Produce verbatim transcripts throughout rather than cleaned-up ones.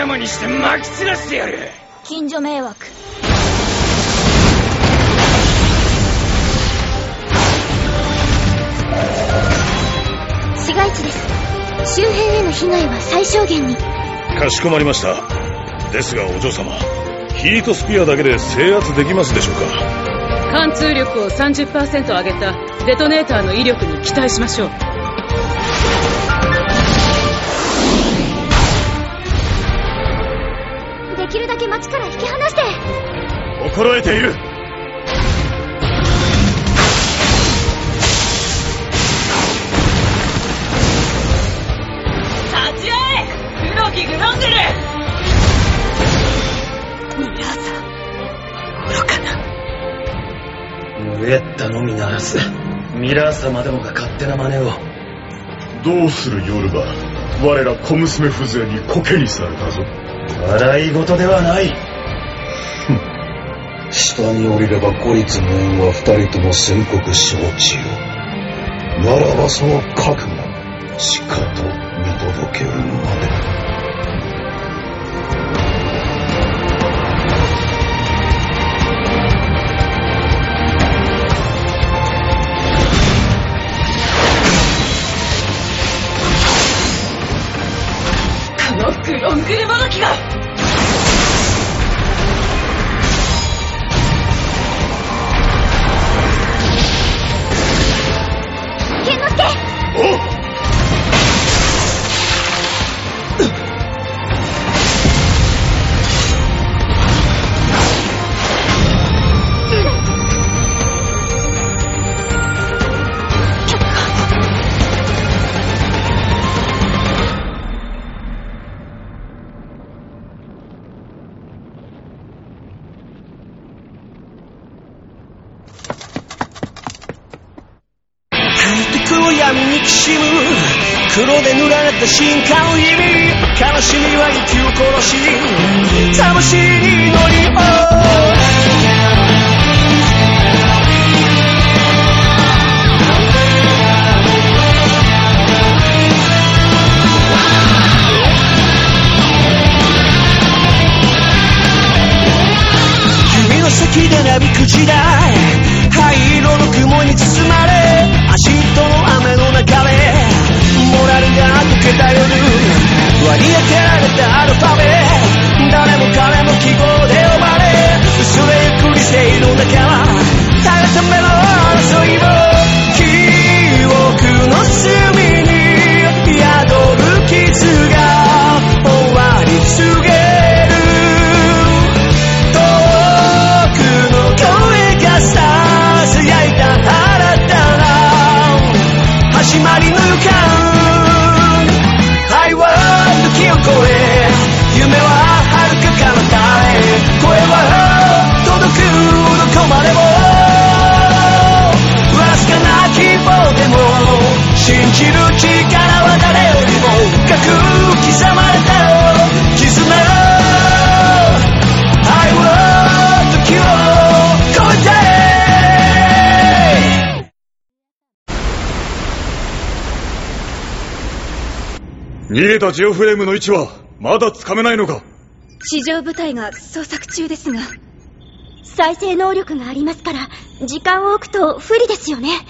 々にして撒き散らしてやる。 近所迷惑。市街地です。周辺への被害は最小限に。 かしこまりました。ですがお嬢様、ヒートスピアだけで制圧できますでしょうか。 貫通力を さんじゅっパーセント 上げたデトネーターの威力に期待しましょう。 できるだけ街から引き離して。 心得ている。 立ち会え黒木グロングル。ミラーさん愚かな。 ムエッタのみならずミラー様でもが勝手な真似を。 どうする夜は我ら小娘風情にコケにされたぞ。 笑い事ではない。 下に降りれば孤立無縁は二人とも宣告承知よ。ならばその覚悟しかと見届けるまで。 グロングルもどきが。 剣之介。 おっ。 闇にきしむ黒で塗られた深海を意味、悲しみは息を殺し魂に乗り降指の先でなびく時代、灰色の雲に包まれ足との雨の中でモラルが溶けた夜、割り当てられたアルファベ、誰も彼も記号で呼ばれ、薄れゆく理性の中はたがための争いも記憶の隅に宿る傷が終わり告げる、遠くの声がささやいた新たな始まりの予感、愛は時を超え、夢は遥か彼方へ、声は届くどこまでも、わずかな希望でも信じる力は誰よりも深く刻まれた絆、愛は時を超えて逃げたジオフレームの位置はまだつかめないのか。 地上部隊が捜索中ですが、再生能力がありますから時間を置くと不利ですよね。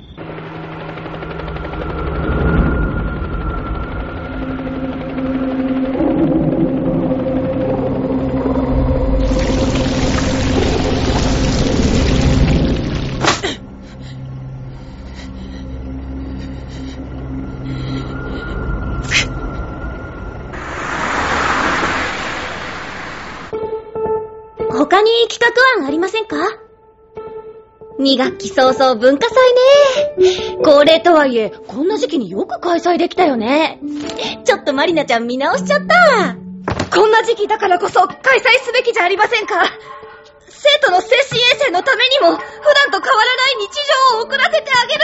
他に企画案ありませんか？に学期早々文化祭ね。恒例とはいえこんな時期によく開催できたよね。ちょっとマリナちゃん見直しちゃった。こんな時期だからこそ開催すべきじゃありませんか。生徒の精神衛生のためにも普段と変わらない日常を送らせてあげる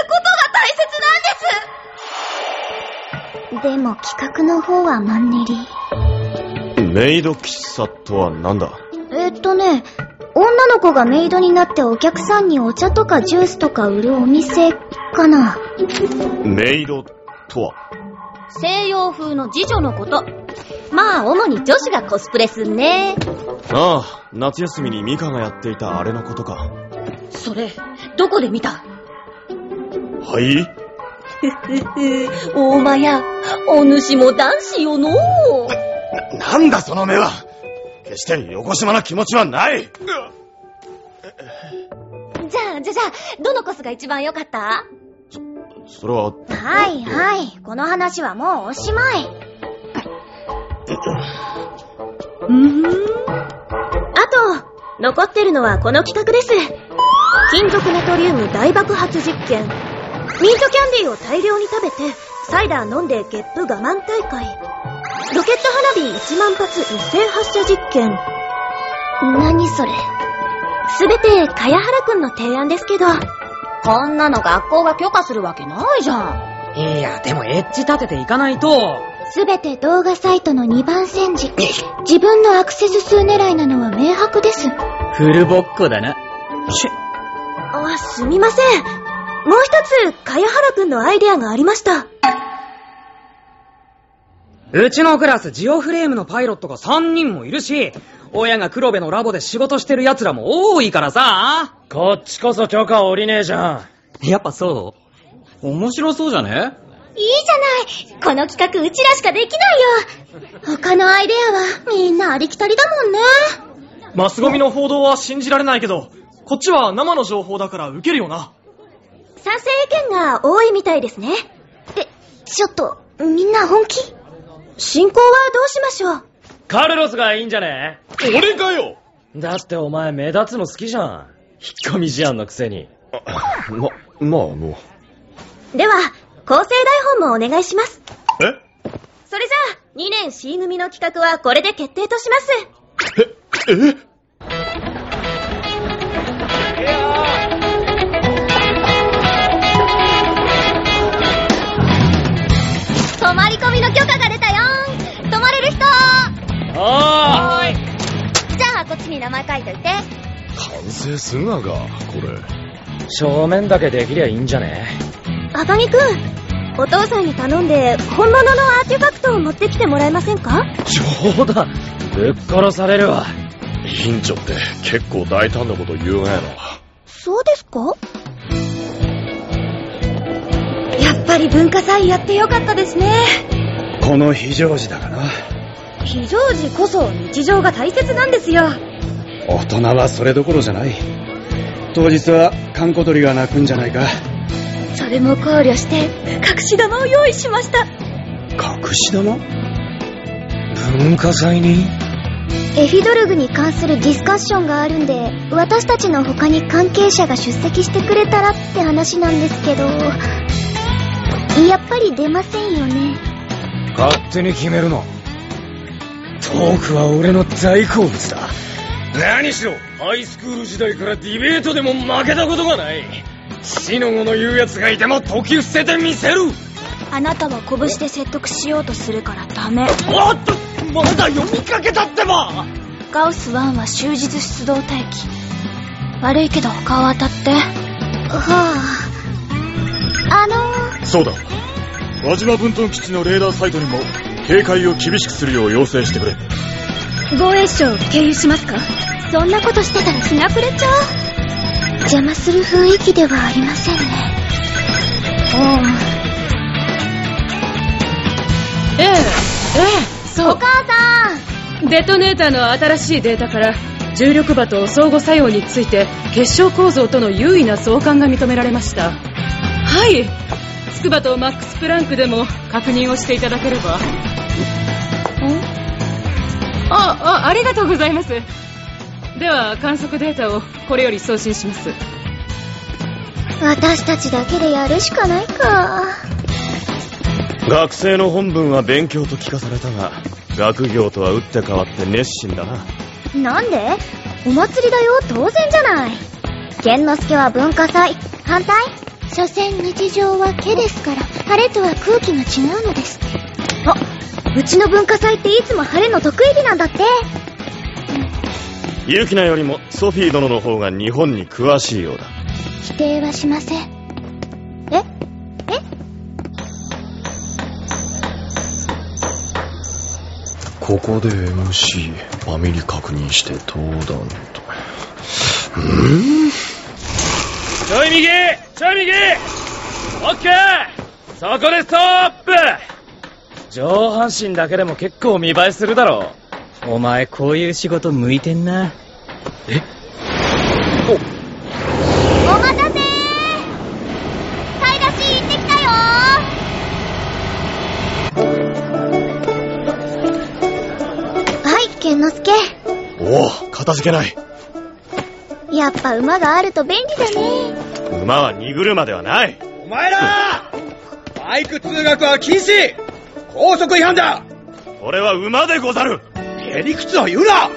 ことが大切なんです。でも企画の方はマンネリ。 メイド喫茶とはなんだ？ えっとね、女の子がメイドになってお客さんにお茶とかジュースとか売るお店かな。 メイドとは？ 西洋風の次女のこと。まあ主に女子がコスプレすんね。 ああ、夏休みにミカがやっていたあれのことか。 それどこで見た？ はい？ ふふふ、大間やお主も男子よのう。 な、なんだその目は。決して横島な気持ちはない。 じゃあじゃあじゃあどのコスが一番良かった？ そ、それは。 はいはい、この話はもうおしまい。うーん。あと残ってるのはこの企画です。金属ナトリウム大爆発実験。ミントキャンディーを大量に食べてサイダー飲んでゲップ我慢大会。ロケット花火いちまん発一斉発射実験。何それ。すべて茅原くんの提案ですけど、こんなの学校が許可するわけないじゃん。 いや、でもエッジ立てていかないと。 すべて動画サイトのにばん煎じ。自分のアクセス数狙いなのは明白です。 フルボッコだな。しあ、すみません。もう一つ茅原くんのアイデアがありました。 うちのクラスジオフレームのパイロットがさんにんもいるし、親が黒部のラボで仕事してる奴らも多いからさ。 こっちこそ許可下りねえじゃん。 やっぱそう？面白そうじゃね？ いいじゃない。この企画うちらしかできないよ。他のアイデアはみんなありきたりだもんね。 マスゴミの報道は信じられないけど、こっちは生の情報だから受けるよな。 賛成意見が多いみたいですね。え、ちょっとみんな本気？進行はどうしましょう？ カルロスがいいんじゃね？ 俺かよ。 だってお前目立つの好きじゃん。引っ込み思案のくせに。 ま、まあもう。では構成台本もお願いします。 え？ それじゃあにねん C 組の企画はこれで決定とします。 え、え？ 泊まり込みの許可が出たよーん。泊まれる人？ はーい。 じゃあこっちに名前書いといて。 完成すんなが、これ。 正面だけできりゃいいんじゃね？ 赤木くん、お父さんに頼んで本物のアーティファクトを持ってきてもらえませんか？ 冗談。ぶっ殺されるわ。 委員長って結構大胆なこと言うがやな。 そうですか？やっぱり文化祭やってよかったですね。 この非常時だがな。 非常時こそ日常が大切なんですよ。 大人はそれどころじゃない。当日は閑古鳥が鳴くんじゃないか。 それも考慮して隠し玉を用意しました。 隠し玉？ 文化祭に？ エフィドルグに関するディスカッションがあるんで、私たちの他に関係者が出席してくれたらって話なんですけど、やっぱり出ませんよね。 勝手に決めるの。トークは俺の大好物だ。何しろハイスクール時代からディベートでも負けたことがない。死の子の言うやつがいても解き伏せてみせる。 あなたは拳で説得しようとするからダメ。 おっと、まだ読みかけたってば。 ガウスワンは終日出動待機。悪いけど他を当たって。はあ。あのー、 そうだ。輪島分屯基地のレーダーサイトにも警戒を厳しくするよう要請してくれ。 防衛省を経由しますか？ そんなことしてたら日が暮れちゃう。邪魔する雰囲気ではありませんね。 ええ、ええ、そう。 お母さん！ デトネーターの新しいデータから重力場と相互作用について結晶構造との優位な相関が認められました。はい。筑波とマックスプランクでも確認をしていただければ。あ、あ、ありがとうございます。では観測データをこれより送信します。 私たちだけでやるしかないか。 学生の本分は勉強と聞かされたが、学業とは打って変わって熱心だな。 なんで？お祭りだよ、当然じゃない。剣之助は文化祭反対？所詮日常は毛ですから、晴れとは空気が違うのです。 あ、うちの文化祭っていつも晴れの得意日なんだって。 ユキナよりもソフィー殿の方が日本に詳しいようだ。 否定はしません。え？え？ ここで エムシー ファミリ確認して登壇と。うんちょい右ちょい右オッケーそこでストップ。上半身だけでも結構見栄えするだろ。 お前こういう仕事向いてんな。 えお待たせー、買い出し行ってきたよー。はい、健之介。 おお、かたじけない。 やっぱ馬があると便利だね。 馬は荷車ではない。 お前らバイク通学は禁止。高速違反だ。 これは馬でござる。 へりくつを言うな。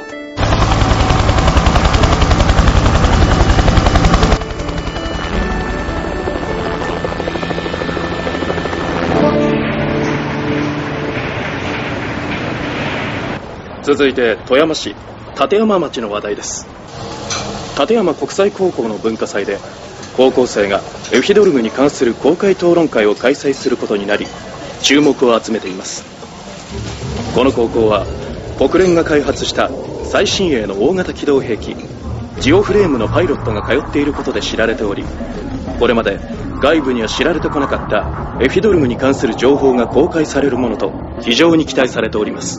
続いて富山市立山町の話題です。立山国際高校の文化祭で高校生がエフィドルグに関する公開討論会を開催することになり注目を集めています。この高校は国連が開発した最新鋭の大型機動兵器ジオフレームのパイロットが通っていることで知られており、これまで外部には知られてこなかったエフィドルグに関する情報が公開されるものと非常に期待されております。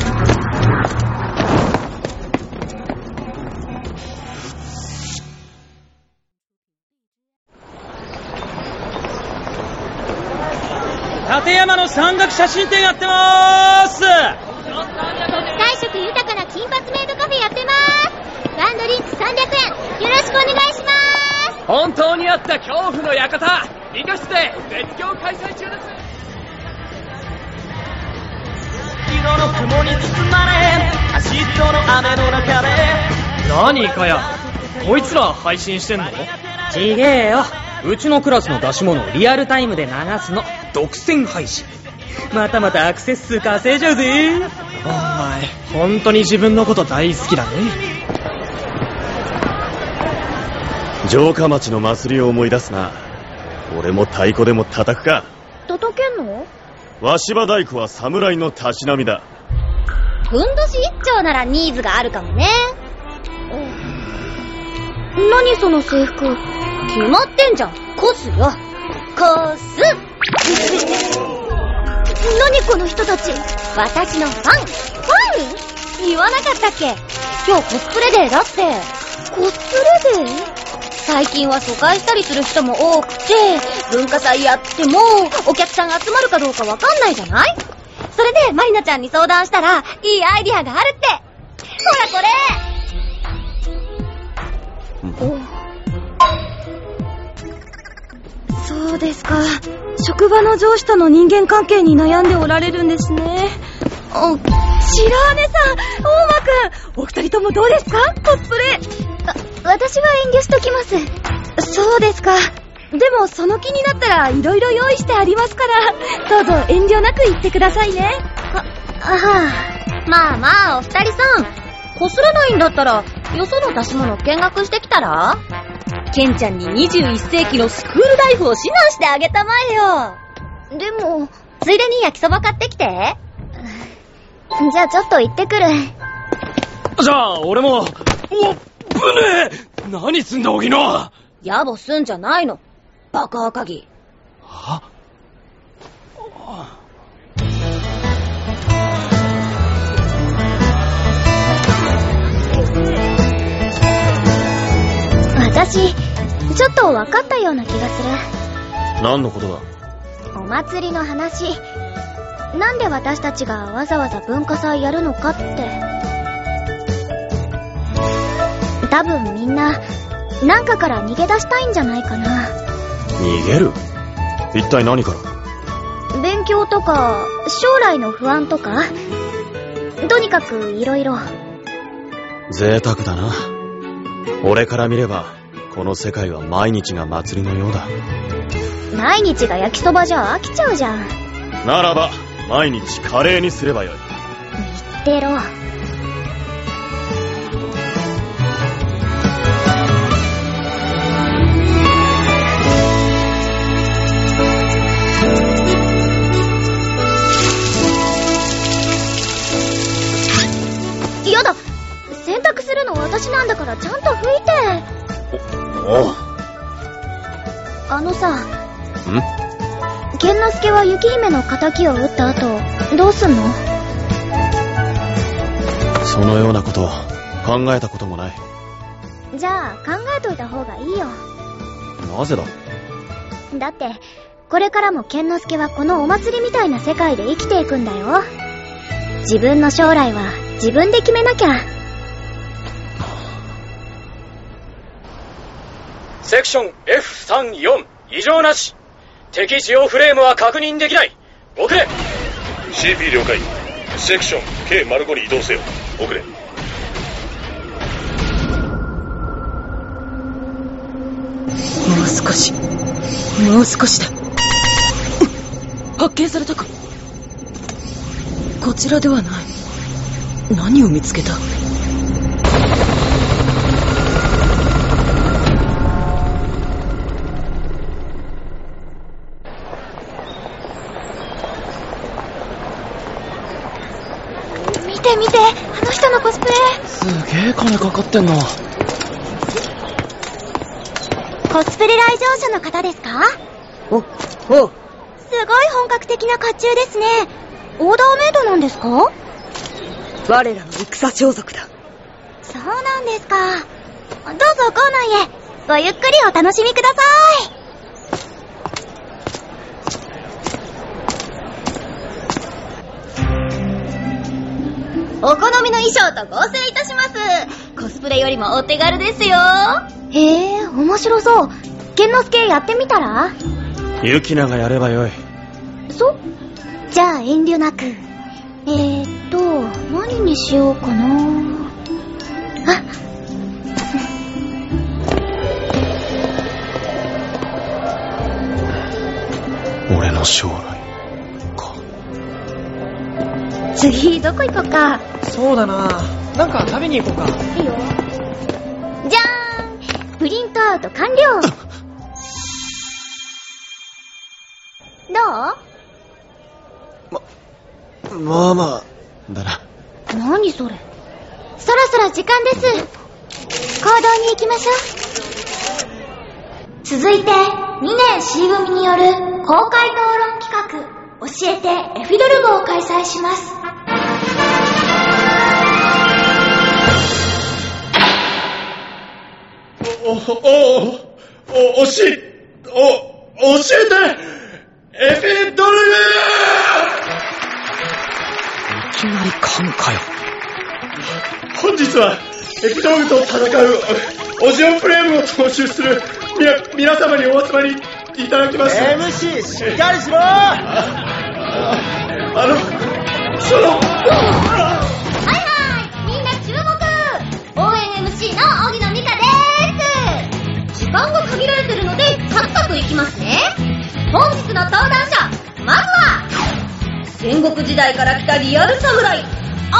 立山の山岳写真展やってまーす。 国際色豊かな金髪メイドカフェやってまーす。ワンドリンクさんびゃくえん、よろしくお願いしまーす。 本当にあった恐怖の館理科室で絶叫開催中です。 色の雲に包まれ足との雨の中で。 何かやこいつら配信してんの？ ちげえよ、うちのクラスの出し物をリアルタイムで流すの。独占配信。またまたアクセス数稼いじゃうぜ。 お前本当に自分のこと大好きだね。 城下町の祭りを思い出すな。俺も太鼓でも叩くか。 叩けんの？ 鷲羽太鼓は侍のたしなみだ。 ふんどし一丁ならニーズがあるかもね。何その制服。決まってんじゃん。コスよ。コス。 何この人たち。 私のファン。ファン？言わなかったっけ？今日コスプレデーだって。 コスプレデー？ 最近は疎開したりする人も多くて、文化祭やってもお客さん集まるかどうかわかんないじゃない？それでマリナちゃんに相談したらいいアイディアがあるって。ほらこれ。 おそうですか。職場の上司との人間関係に悩んでおられるんですね。お、白羽さん、大間くん、お二人ともどうですか？コスプレ。あ、私は遠慮しときます。そうですか。でもその気になったらいろいろ用意してありますから、どうぞ遠慮なく言ってくださいね。 あ、あはあ。まあまあお二人さん、こすらないんだったらよその出し物見学してきたら？ケンちゃんににじゅういっせいきのスクールライフを指南してあげたまえよ。 でも、 ついでに焼きそば買ってきて。 じゃあちょっと行ってくる。 じゃあ俺も。おっ、ぶねえ。何すんだ荻野。 野暮すんじゃないの。バカ赤木。 は？ 私、ちょっと分かったような気がする。 何のことだ？ お祭りの話。なんで私たちがわざわざ文化祭やるのかって。多分みんな、なんかから逃げ出したいんじゃないかな。 逃げる？一体何から？ 勉強とか、将来の不安とか。とにかくいろいろ。 贅沢だな。俺から見ればこの世界は毎日が祭りのようだ。 毎日が焼きそばじゃ飽きちゃうじゃん。 ならば毎日カレーにすればよい。 言ってろ。 やだ、洗濯するの私なんだからちゃんと拭いて。 おお。 あのさ、 ん？ 剣之介は雪姫の仇を撃った後どうすんの？ そのようなこと考えたこともない。 じゃあ考えといた方がいいよ。 なぜだ？ だってこれからも剣之介はこのお祭りみたいな世界で生きていくんだよ。自分の将来は自分で決めなきゃ。 セクション エフさんじゅうよん 異常なし。敵ジオフレームは確認できない。遅れ。 シーピー 了解。セクション ケーご に移動せよ。遅れ。 もう少し、もう少しだ。発見されたか。こちらではない。何を見つけた？ 見て見て、あの人のコスプレ。 すげえ金かかってんな。 コスプレ来場者の方ですか？ お、おう。 すごい本格的な甲冑ですね。オーダーメイドなんですか？ 我らの戦装束だ。 そうなんですか。どうぞ校内へ。ごゆっくりお楽しみください。お好みの衣装と合成いたします。コスプレよりもお手軽ですよ。へえ、面白そう。剣之介やってみたら？ ユキナがやればよい。 そ？じゃあ遠慮なく。えーっと、何にしようかな。あ、 俺の将来か。 次どこ行こうか。 そうだな。なんか食べに行こうか。 いいよ。じゃーん、プリントアウト完了。どう？ まあまあだな。 何それ。そろそろ時間です。行動に行きましょう。続いてにねん C 組による公開討論企画、教えてエフィドルグを開催します。 お、お、お、おし、お、教えてエフィドルグ。 いきなり神かよ。 本日はエフィドルグと戦うオジオフレームを踏襲するみな皆様にお集まりいただきました。 エムシー しっかりしろ。 あ, あのそのはいはい、みんな注目。応援 エムシー の荻野美香でーす。時間が限られてるのでサクサクいきますね。本日の登壇者、まずは戦国時代から来たリアル侍、大野健之助と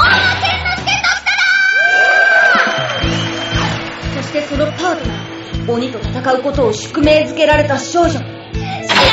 しただ。そしてそのパートナー、鬼と戦うことを宿命づけられた少女、白羽ゆき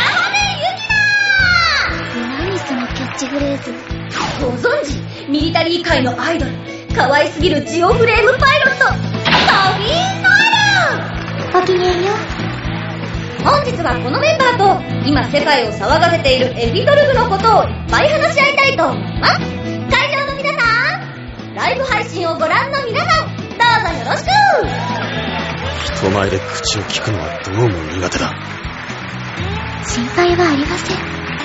な。何そのキャッチフレーズ。ご存知、ミリタリー界のアイドル、可愛すぎるジオフレームパイロット、ソフィー・ノエル。ごきげんよう。本日はこのメンバーと今世界を騒がせているエフィドルグのことをいっぱい話し合いたいと思います。会場の皆さん、ライブ配信をご覧の皆さん、どうぞよろしく。 人前で口を聞くのはどうも苦手だ。 心配はありません。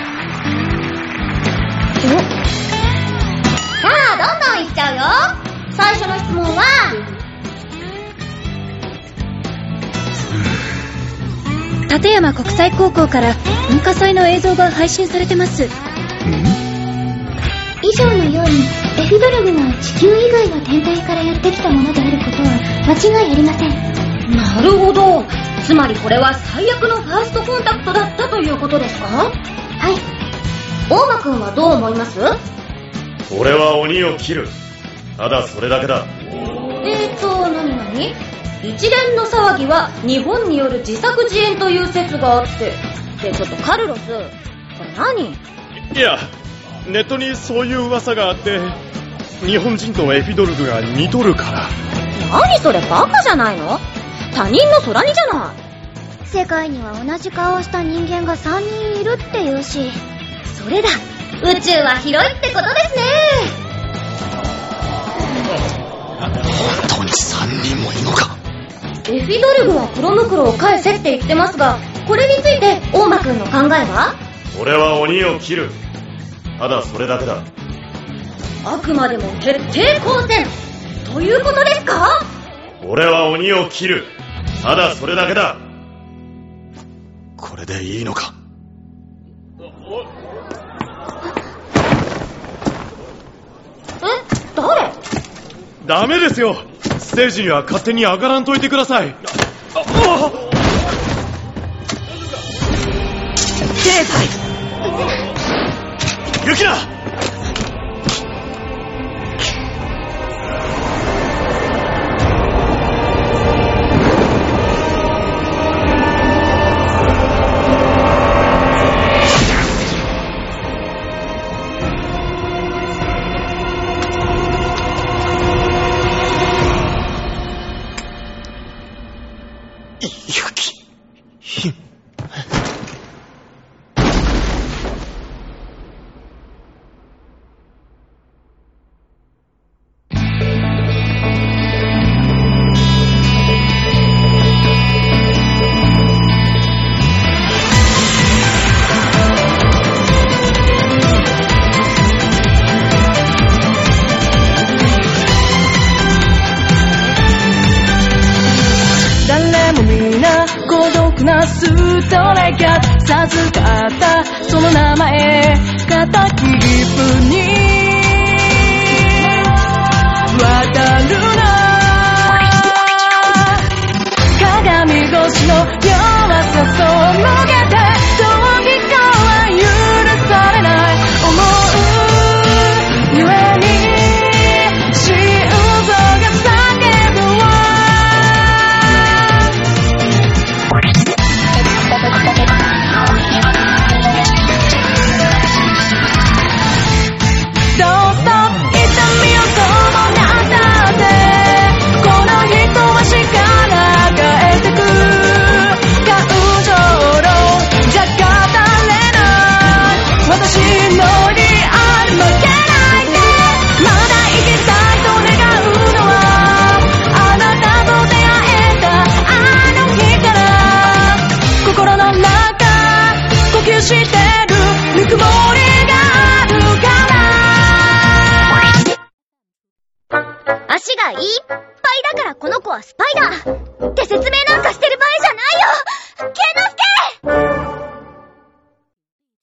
さあ、どんどんいっちゃうよ。最初の質問は、 立山国際高校から文化祭の映像が配信されてます。 以上のようにエフィドルグが地球以外の天体からやってきたものであることは間違いありません。なるほど。つまりこれは最悪のファーストコンタクトだったということですか？はい。大間くんはどう思います？ 俺は鬼を切る。ただそれだけだ。 えーと、なになに？一連の騒ぎは日本による自作自演という説があって。で、ちょっとカルロス、これ何？ いや、ネットにそういう噂があって。 日本人とエフィドルグが似とるから。 何それ、バカじゃないの？他人の空似じゃない。 世界には同じ顔をした人間がさんにんいるって言うし、 それだ、宇宙は広いってことですね。 本当にさんにんもいるのか。 エフィドルグは黒袋を返せって言ってますが、これについて大間くんの考えは？ 俺は鬼を切る。ただそれだけだ。 あくまでも徹底抗戦ということですか？ 俺は鬼を切る。ただそれだけだ。 これでいいのか。 え、誰？ ダメですよ。ステージには勝手に上がらんといてください。ああ経済ユキナ。 ストレが授かったその名前肩切り符に渡るな。鏡越しの弱さそのげてどうにかは許されない思うゆえに心臓が叫ぶわ。 足がいっぱいだからこの子はスパイダーって説明なんかしてる場合じゃないよ。ケンノスケ！